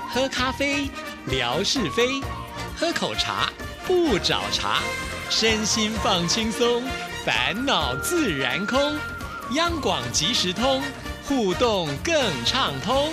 喝咖啡，聊是非；喝口茶，不找茬。身心放轻松，烦恼自然空。央广即时通，互动更畅通。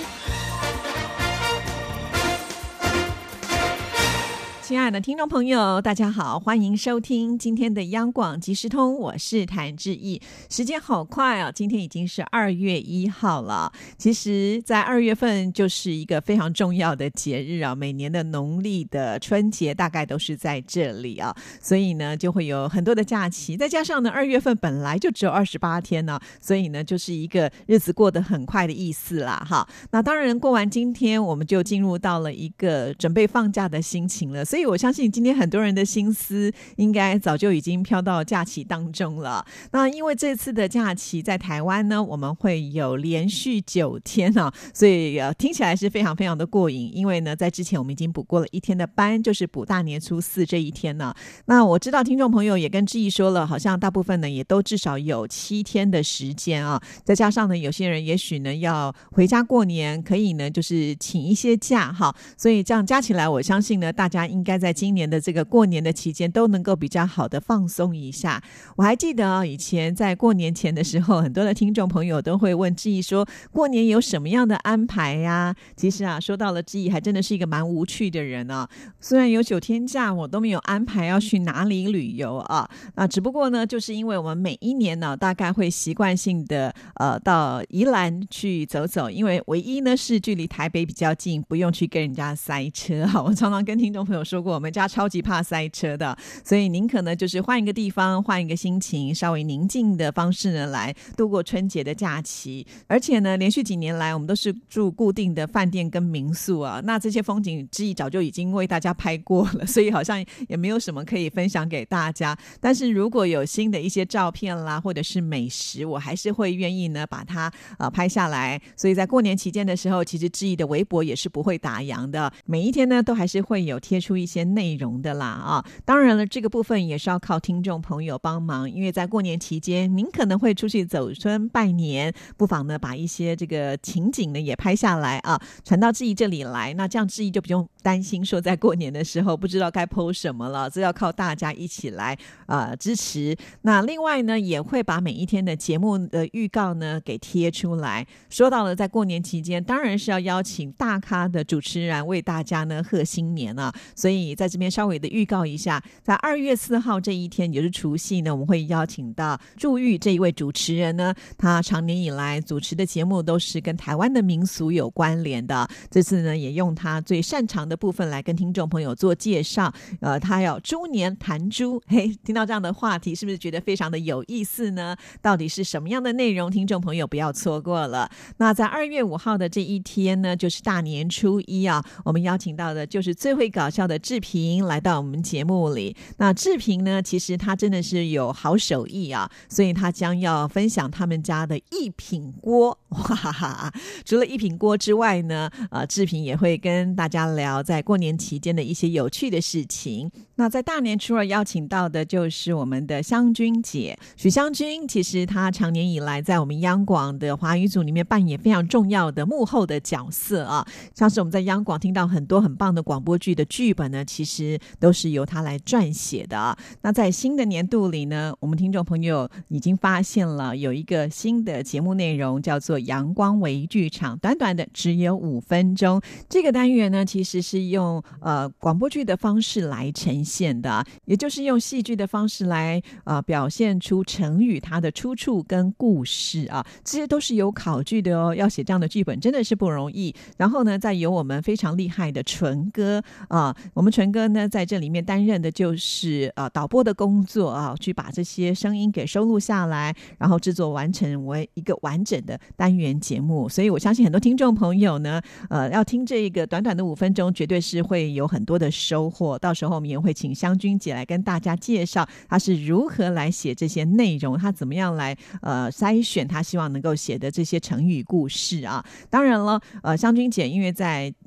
亲爱的听众朋友，大家好，欢迎收听今天的央广即时通，我是谭志毅。时间好快啊，今天已经是2月1号了。其实在2月份就是一个非常重要的节日啊，每年的农历的春节大概都是在这里啊，所以呢就会有很多的假期，再加上呢2月份本来就只有28天呢，所以呢就是一个日子过得很快的意思啦哈。那当然过完今天我们就进入到了一个准备放假的心情了，所以我相信今天很多人的心思应该早就已经飘到假期当中了。那因为这次的假期在台湾呢，我们会有连续9天啊，所以听起来是非常非常的过瘾。因为呢，在之前我们已经补过了1天的班，就是补大年初4这一天呢。那我知道听众朋友也跟志毅说了，好像大部分呢也都至少有7天的时间啊，再加上呢有些人也许呢要回家过年，可以呢就是请一些假哈，所以这样加起来，我相信呢大家应该在今年的这个过年的期间都能够比较好的放松一下。我还记得以前在过年前的时候，很多的听众朋友都会问志毅说过年有什么样的安排呀？其实啊，说到了志毅还真的是一个蛮无趣的人啊。虽然有9天假，我都没有安排要去哪里旅游啊。那只不过呢，就是因为我们每一年呢，大概会习惯性的到宜兰去走走，因为唯一呢是距离台北比较近，不用去跟人家塞车哈。我常常跟听众朋友说过，我们家超级怕塞车的，所以宁可呢就是换一个地方，换一个心情，稍微宁静的方式呢来度过春节的假期。而且呢连续几年来我们都是住固定的饭店跟民宿啊，那这些风景志毅早就已经为大家拍过了，所以好像也没有什么可以分享给大家。但是如果有新的一些照片啦，或者是美食，我还是会愿意呢把它拍下来。所以在过年期间的时候，其实志毅的微博也是不会打烊的，每一天呢都还是会有贴出一些内容的啦啊。当然了，这个部分也是要靠听众朋友帮忙，因为在过年期间您可能会出去走春拜年，不妨呢把一些这个情景呢也拍下来啊，传到志毅这里来，那这样志毅就不用担心说在过年的时候不知道该 po 什么了，这要靠大家一起来支持。那另外呢也会把每一天的节目的预告呢给贴出来。说到了在过年期间当然是要邀请大咖的主持人为大家呢贺新年啊，所以在这边稍微的预告一下，在2月4号这一天也就是除夕呢，我们会邀请到祝玉这一位主持人呢，他长年以来主持的节目都是跟台湾的民俗有关联的，这次呢也用他最擅长的部分来跟听众朋友做介绍。他要猪年谈猪，嘿，听到这样的话题是不是觉得非常的有意思呢？到底是什么样的内容，听众朋友不要错过了。那在2月5号的这一天呢，就是大年初1啊，我们邀请到的就是最会搞笑的志平来到我们节目里。那志平呢其实他真的是有好手艺啊，所以他将要分享他们家的一品锅。哇哈哈！除了一品锅之外呢志平也会跟大家聊在过年期间的一些有趣的事情。那在大年初2邀请到的就是我们的湘君姐许湘君，其实她长年以来在我们央广的华语组里面扮演非常重要的幕后的角色啊，像是我们在央广听到很多很棒的广播剧的剧本呢，其实都是由她来撰写的啊。那在新的年度里呢，我们听众朋友已经发现了有一个新的节目内容叫做阳光微剧场，短短的只有5分钟。这个单元呢其实是用广播剧的方式来呈现的，也就是用戏剧的方式来表现出成语它的出处跟故事啊，这些都是有考据的哦。要写这样的剧本真的是不容易。然后呢再由我们非常厉害的纯哥我们纯哥呢在这里面担任的就是导播的工作啊，去把这些声音给收录下来，然后制作完成为一个完整的单元节目。所以我相信很多听众朋友呢要听这个短短的5分钟绝对是会有很多的收获。到时候我们也会请湘君姐来跟大家介绍她是如何来写这些内容，她怎么样来筛选她希望能够写的这些成语故事啊。当然了湘君姐因为在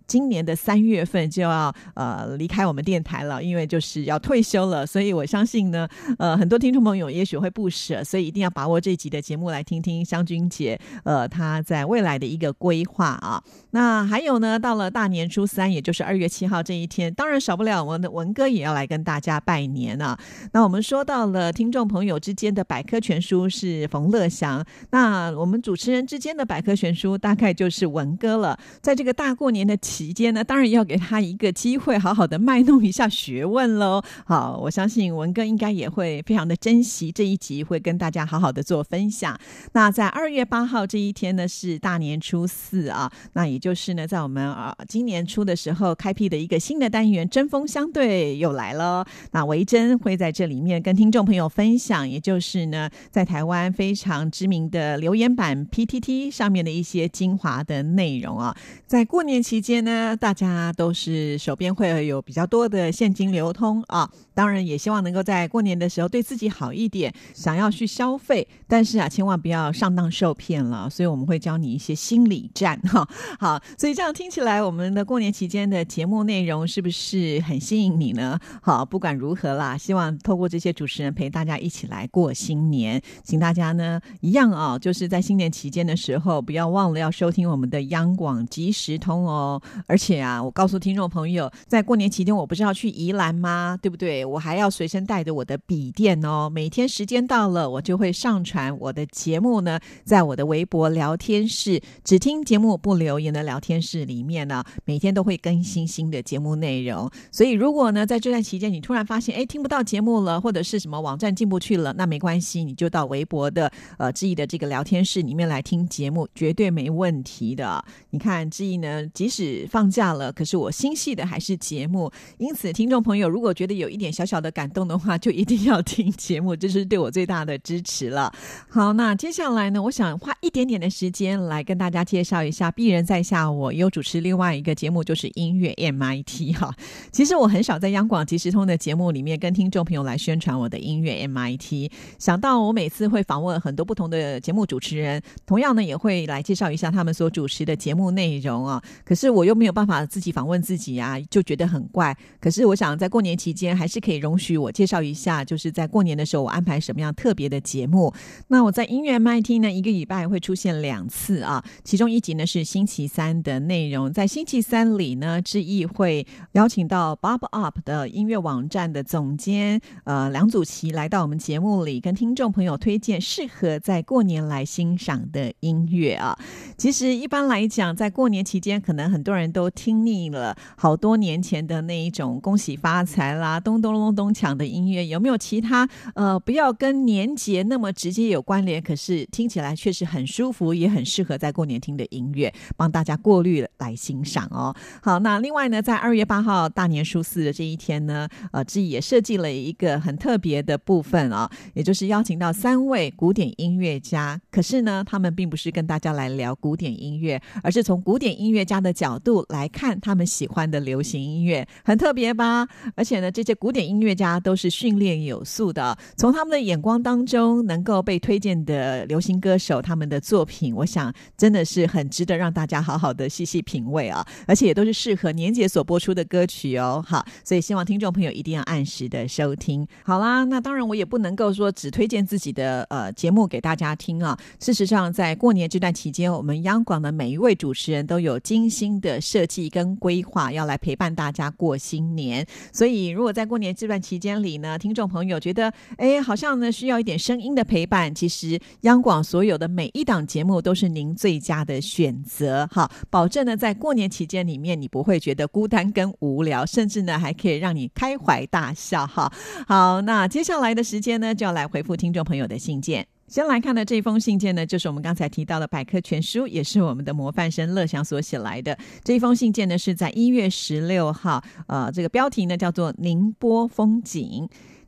今年的3月份就要离开我们电台了，因为就是要退休了，所以我相信呢很多听众朋友也许会不舍，所以一定要把握这一集的节目来听听湘君姐她在未来的一个规划啊。那还有呢，到了大年初3，也就是2月7号这一天，当然少不了我们的文哥也要来跟大家拜年啊。那我们说到了听众朋友之间的百科全书是冯乐祥，那我们主持人之间的百科全书大概就是文哥了。在这个大过年的期间呢，当然要给他一个机会好好的卖弄一下学问咯。好，我相信文哥应该也会非常的珍惜这一集，会跟大家好好的做分享。那在2月8号这一天呢是大年初4啊，那也就是呢在我们今年初的时候开辟的一个新的单元针锋相对又来了。那维珍会在这里面跟听众朋友分享，也就是呢在台湾非常知名的留言板 PTT 上面的一些精华的内容啊。在过年期间呢，大家都是手边会有比较多的现金流通啊，当然也希望能够在过年的时候对自己好一点，想要去消费，但是千万不要上当受骗了，所以我们会教你一些心理战哈。好，所以这样听起来我们的过年期间的节目内容是不是很吸引你呢？好，不管如何啦，希望透过这些主持人陪大家一起来过新年，请大家呢一样就是在新年期间的时候不要忘了要收听我们的央广即时通哦。而且我告诉听众朋友，在过年期间我不是要去宜兰吗？对不对？我还要随身带着我的笔电哦，每天时间到了我就会上传我的节目呢，在我的微博聊天室只听节目不留言的聊天室里面呢，每天都会更新新的节目内容。所以如果呢在这段期间你突然发现听不到节目了，或者是什么网站进不去了，那没关系，你就到微博的志毅的这个聊天室里面来听节目，绝对没问题的。你看志毅呢即使放假了，可是我心系的还是节目，因此听众朋友如果觉得有一点小小的感动的话，就一定要听节目，这是对我最大的支持了。好，那接下来呢，我想花一点点的时间来跟大家介绍一下鄙人在下我有主持另外一个节目，就是音乐 MIT 哈。其实我很少在央广即时通的节目里面跟听众朋友来宣传我的音乐 MIT， 想到我每次会访问很多不同的节目主持人，同样呢也会来介绍一下他们所主持的节目内容啊。可是我又没有办法自己访问自己啊，就觉得很怪。可是我想在过年期间还是可以容许我介绍一下，就是在过年的时候我安排什么样特别的节目。那我在音乐 MIT 呢，一个礼拜会出现2次啊，其中一集呢是星期三的内容。在星期三里呢，志毅会邀请到 Bob Up 的音乐网站的总监梁祖琪来到我们节目里，跟听众朋友推荐适合在过年来欣赏的音乐啊。其实一般来讲，在过年期间可能很多人都听腻了好多年前的那一种恭喜发财啦、咚咚咚咚锵的音乐，有没有其他不要跟年节那么直接有关联，可是听起来确实很舒服，也很适合在过年听的音乐，帮大家过滤来欣赏哦。好，那另外呢，在2月8号大年初4的这一天呢，志毅也设计了一个很特别的部分啊，也就是邀请到3位古典音乐家，可是呢，他们并不是跟大家来聊古典音乐，而是从古典音乐家的角度来看他们喜欢的流行音乐，很特别吧？而且呢，这些古典音乐家都是训练有素的，从他们的眼光当中能够被推荐的流行歌手，他们的作品，我想真的是很值得让大家好好的细细品味啊，而且也都是适合年节所播出的歌曲哦。好，所以希望听众朋友一定要按时的收听。好啦，那当然我也不能够说只推荐自己的节目给大家听啊。事实上，在过年这段期间，我们央广的每一位主持人都有精心的设计跟规划，要来陪伴大家过新年。所以如果在过年这段期间里呢，听众朋友觉得好像呢需要一点声音的陪伴，其实央广所有的每一档节目都是您最佳的选择。好，保证呢在过年期间里面你不会觉得孤单跟无聊，甚至呢还可以让你开怀大笑哈。好，那接下来的时间呢就要来回复听众朋友的信件。先来看的这封信件呢，就是我们刚才提到的百科全书，也是我们的模范生乐祥所写来的。这一封信件呢是在1月16号这个标题呢叫做宁波风景。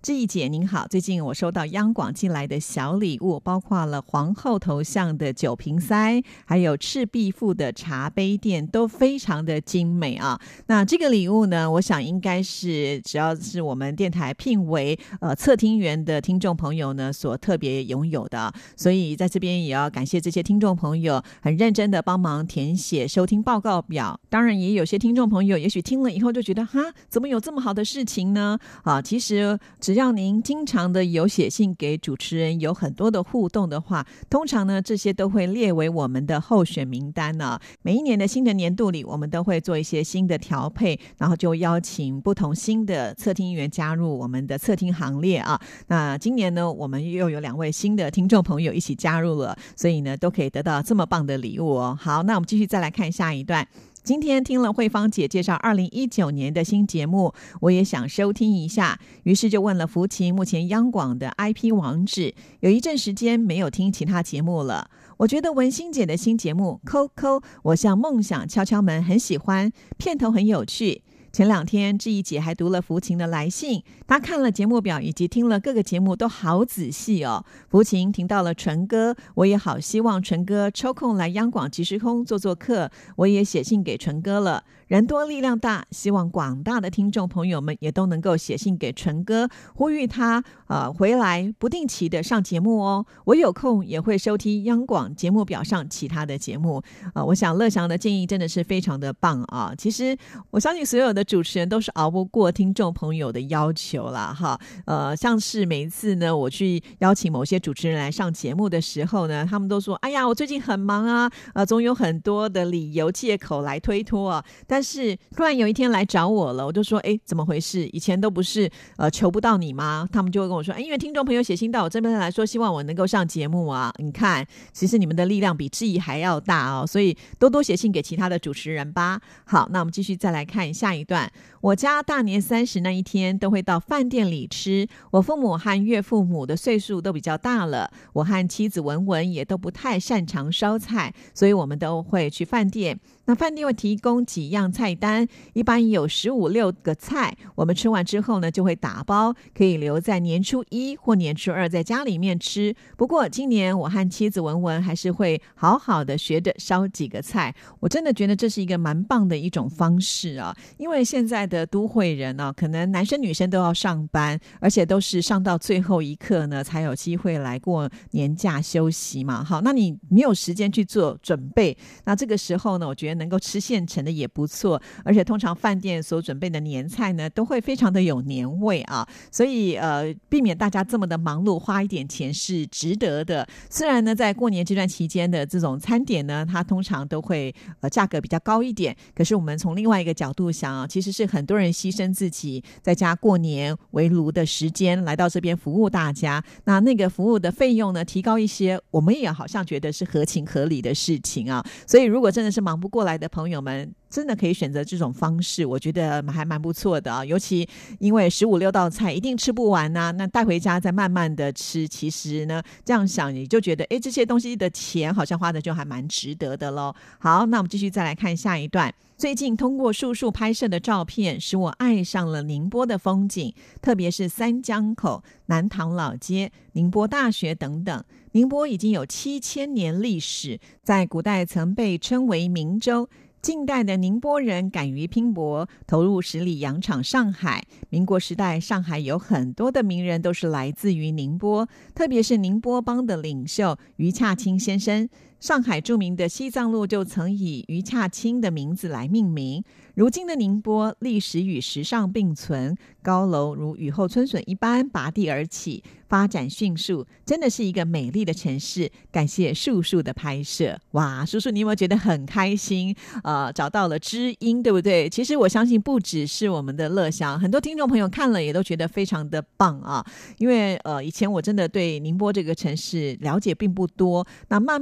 志毅姐您好，最近我收到央广寄来的小礼物，包括了皇后头像的酒瓶塞，还有赤壁赋的茶杯垫，都非常的精美啊。那这个礼物呢，我想应该是只要是我们电台聘为测听员的听众朋友呢所特别拥有的，所以在这边也要感谢这些听众朋友很认真的帮忙填写收听报告表。当然也有些听众朋友也许听了以后就觉得哈，怎么有这么好的事情呢？其实只要您经常的有写信给主持人，有很多的互动的话，通常呢这些都会列为我们的候选名单呢。每一年的新的年度里，我们都会做一些新的调配，然后就邀请不同新的测听员加入我们的测听行列啊。那今年呢，我们又有2位新的听众朋友一起加入了，所以呢都可以得到这么棒的礼物哦。好，那我们继续再来看下一段。今天听了慧芳姐介绍2019年的新节目，我也想收听一下，于是就问了福琴目前央广的 IP 网址。有一阵时间没有听其他节目了，我觉得文心姐的新节目扣扣我向梦想敲敲门很喜欢，片头很有趣。前2天志毅姐还读了福琴的来信，她看了节目表以及听了各个节目都好仔细哦。福琴听到了纯哥，我也好希望纯哥抽空来央广即时通做做客，我也写信给纯哥了。人多力量大，希望广大的听众朋友们也都能够写信给纯哥，呼吁他回来不定期的上节目哦。我有空也会收听央广节目表上其他的节目。我想乐祥的建议真的是非常的棒啊。其实我相信所有的主持人都是熬不过听众朋友的要求啦哈。像是每一次呢我去邀请某些主持人来上节目的时候呢，他们都说哎呀我最近很忙啊，总有很多的理由借口来推脱啊。但是突然有一天来找我了，我就说怎么回事？以前都不是求不到你吗？他们就会跟我说因为听众朋友写信到我这边来说希望我能够上节目啊。你看其实你们的力量比志毅还要大哦，所以多多写信给其他的主持人吧。好，那我们继续再来看下一段。我家大年30那一天都会到饭店里吃，我父母和岳父母的岁数都比较大了，我和妻子文文也都不太擅长烧菜，所以我们都会去饭店。那饭店会提供几样菜单，一般有15、16个菜，我们吃完之后呢就会打包，可以留在年初1或年初2在家里面吃。不过今年我和妻子文文还是会好好的学着烧几个菜，我真的觉得这是一个蛮棒的一种方式啊。因为现在的都会人啊，可能男生女生都要上班，而且都是上到最后一刻呢才有机会来过年假休息嘛。好，那你没有时间去做准备，那这个时候呢我觉得能够吃现成的也不错，而且通常饭店所准备的年菜呢都会非常的有年味啊，所以避免大家这么的忙碌，花一点钱是值得的。虽然呢在过年这段期间的这种餐点呢它通常都会价格比较高一点，可是我们从另外一个角度想啊，其实是很多人牺牲自己在家过年围炉的时间来到这边服务大家，那个服务的费用呢提高一些，我们也好像觉得是合情合理的事情啊。所以如果真的是忙不过来的朋友们，真的可以选择这种方式，我觉得还蛮不错的啊。尤其因为15、16道菜一定吃不完啊，那带回家再慢慢的吃，其实呢这样想你就觉得这些东西的钱好像花的就还蛮值得的咯。好，那我们继续再来看下一段。最近通过叔叔拍摄的照片使我爱上了宁波的风景，特别是三江口、南塘老街、宁波大学等等。宁波已经有7000年历史，在古代曾被称为明州，近代的宁波人敢于拼搏，投入实力扬场上海。民国时代上海有很多的名人都是来自于宁波，特别是宁波帮的领袖余洽清先生。上海著名的西藏路就曾以余洽清的名字来命名。如今的宁波历史与时尚并存，高楼如雨后春笋一般拔地而起，发展迅速，真的是一个美丽的城市。感谢叔叔的拍摄。哇，叔叔你有没有觉得很开心？找到了知音，对不对？其实我相信不只是我们的乐祥，很多听众朋友看了也都觉得非常的棒啊。因为以前我真的对宁波这个城市了解并不多，那慢慢的透过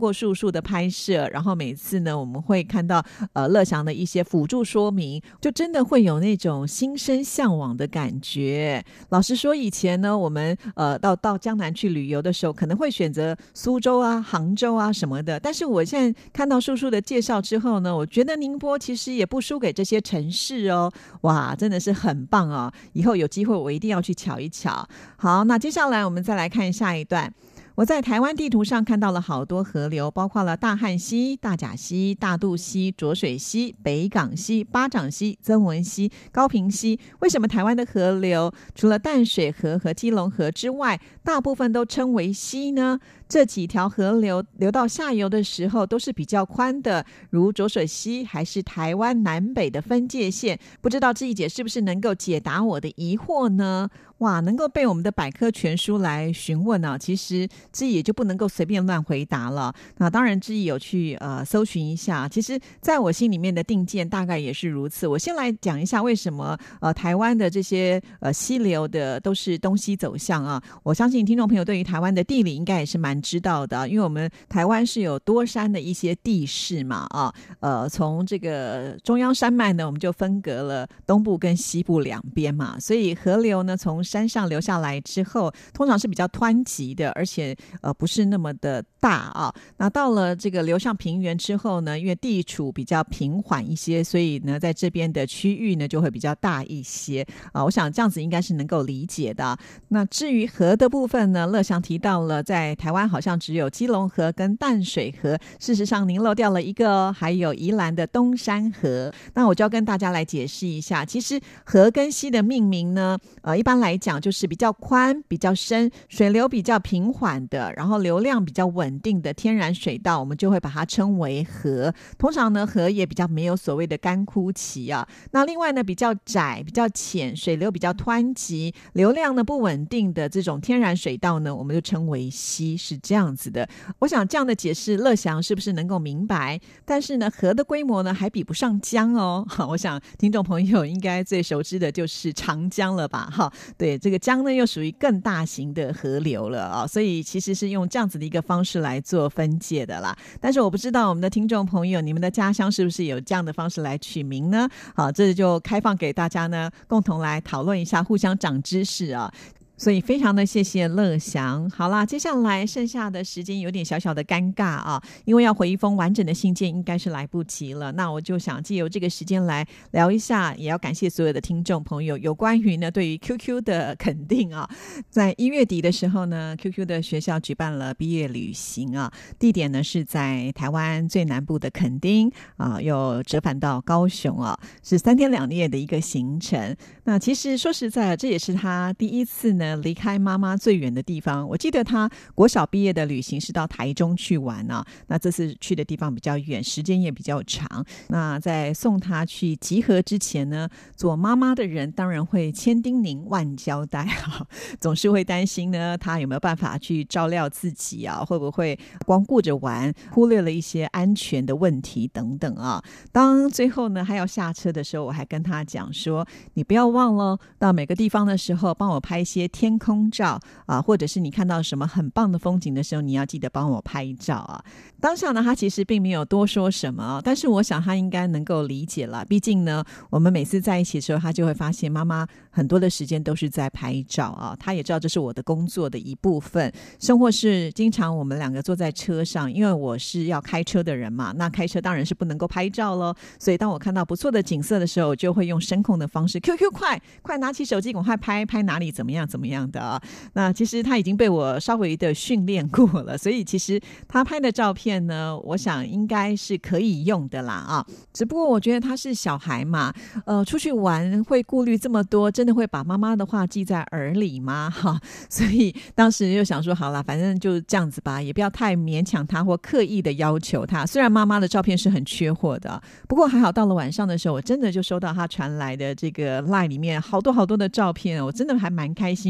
过树树的拍摄，然后每次呢我们会看到乐祥的一些辅助说明，就真的会有那种心生向往的感觉。老实说，以前呢我们到江南去旅游的时候，可能会选择苏州啊、杭州啊什么的，但是我现在看到树树的介绍之后呢，我觉得宁波其实也不输给这些城市哦。哇，真的是很棒哦，以后有机会我一定要去瞧一瞧。好，那接下来我们再来看下一段。我在台湾地图上看到了好多河流，包括了大汉溪、大甲溪、大肚溪、浊水溪、北港溪、巴掌溪、曾文溪、高屏溪。为什么台湾的河流除了淡水河和基隆河之外，大部分都称为溪呢？这几条河流流到下游的时候都是比较宽的，如浊水溪还是台湾南北的分界线。不知道志毅姐是不是能够解答我的疑惑呢？哇，能够被我们的百科全书来询问啊，其实志毅也就不能够随便乱回答了。那当然志毅有去搜寻一下，其实在我心里面的定见大概也是如此。我先来讲一下为什么台湾的这些溪流的都是东西走向啊。我相信听众朋友对于台湾的地理应该也是蛮知道的，因为我们台湾是有多山的一些地势嘛啊，从这个中央山脉呢，我们就分隔了东部跟西部两边嘛，所以河流呢从山上流下来之后，通常是比较湍急的，而且不是那么的大啊。那到了这个流向平原之后呢，因为地处比较平缓一些，所以呢在这边的区域呢就会比较大一些啊。我想这样子应该是能够理解的。那至于河的部分呢，乐祥提到了在台湾好像只有基隆河跟淡水河，事实上您漏掉了一个，还有宜兰的东山河。那我就要跟大家来解释一下，其实河跟溪的命名呢一般来讲就是比较宽比较深，水流比较平缓的，然后流量比较稳定的天然水道，我们就会把它称为河。通常呢河也比较没有所谓的干枯期啊。那另外呢比较窄比较浅，水流比较湍急，流量呢不稳定的这种天然水道呢，我们就称为溪，是这样子的。我想这样的解释乐祥是不是能够明白？但是呢河的规模呢还比不上江哦。我想听众朋友应该最熟知的就是长江了吧。对，这个江呢又属于更大型的河流了啊，所以其实是用这样子的一个方式来做分界的啦。但是我不知道我们的听众朋友，你们的家乡是不是有这样的方式来取名呢？好，这就开放给大家呢共同来讨论一下，互相长知识啊。所以非常的谢谢乐祥。好啦，接下来剩下的时间有点小小的尴尬啊，因为要回一封完整的信件应该是来不及了。那我就想借由这个时间来聊一下，也要感谢所有的听众朋友有关于呢对于 QQ 的肯定啊。在1月底的时候呢 QQ 的学校举办了毕业旅行啊，地点呢是在台湾最南部的垦丁啊，又折返到高雄啊，是3天2夜的一个行程。那其实说实在这也是他第一次呢离开妈妈最远的地方。我记得他国小毕业的旅行是到台中去玩啊，那这次去的地方比较远，时间也比较长。那在送他去集合之前呢，做妈妈的人当然会千叮咛万交代啊，总是会担心呢他有没有办法去照料自己啊，会不会光顾着玩，忽略了一些安全的问题等等啊。当最后呢还要下车的时候，我还跟他讲说，你不要忘了到每个地方的时候帮我拍一些天空照啊，或者是你看到什么很棒的风景的时候，你要记得帮我拍照啊。当下呢他其实并没有多说什么，但是我想他应该能够理解了，毕竟呢我们每次在一起的时候，他就会发现妈妈很多的时间都是在拍照啊。他也知道这是我的工作的一部分，甚或是经常我们2个坐在车上，因为我是要开车的人嘛，那开车当然是不能够拍照咯，所以当我看到不错的景色的时候，我就会用声控的方式 QQ 快拿起手机赶快拍哪里怎么样怎么样的啊。那其实他已经被我稍微的训练过了，所以其实他拍的照片呢，我想应该是可以用的啦啊。只不过我觉得他是小孩嘛，出去玩会顾虑这么多，真的会把妈妈的话记在耳里吗？哈，所以当时就想说，好啦，反正就这样子吧，也不要太勉强他或刻意的要求他。虽然妈妈的照片是很缺货的，不过还好到了晚上的时候，我真的就收到他传来的这个 LINE 里面好多好多的照片，我真的还蛮开心，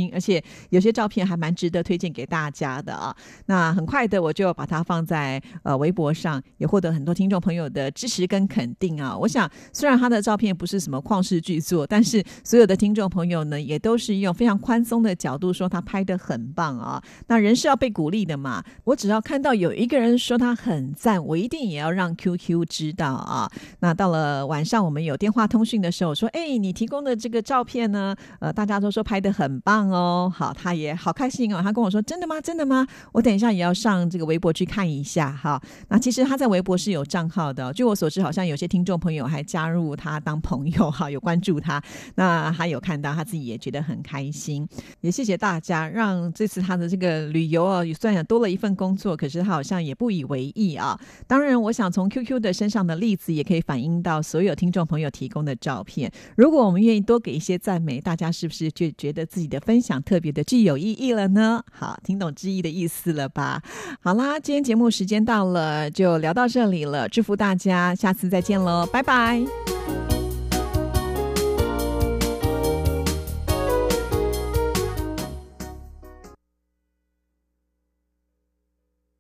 心，而且有些照片还蛮值得推荐给大家的啊。那很快的我就把它放在微博上，也获得很多听众朋友的支持跟肯定啊。我想虽然他的照片不是什么旷世巨作，但是所有的听众朋友呢也都是用非常宽松的角度说他拍得很棒啊。那人是要被鼓励的嘛，我只要看到有一个人说他很赞，我一定也要让 QQ 知道啊。那到了晚上我们有电话通讯的时候，说你提供的这个照片呢大家都说拍得很棒哦。好，他也好开心哦，他跟我说真的吗？真的吗？我等一下也要上这个微博去看一下哈。那其实他在微博是有账号的，据我所知好像有些听众朋友还加入他当朋友哈，有关注他，那他有看到，他自己也觉得很开心。也谢谢大家，让这次他的这个旅游啊，虽然多了一份工作，可是他好像也不以为意啊。当然我想从 QQ 的身上的例子也可以反映到所有听众朋友提供的照片，如果我们愿意多给一些赞美，大家是不是就觉得自己的分享特别的具有意义了呢？好，听懂之意的意思了吧？好啦，今天节目时间到了，就聊到这里了，祝福大家下次再见咯，拜拜。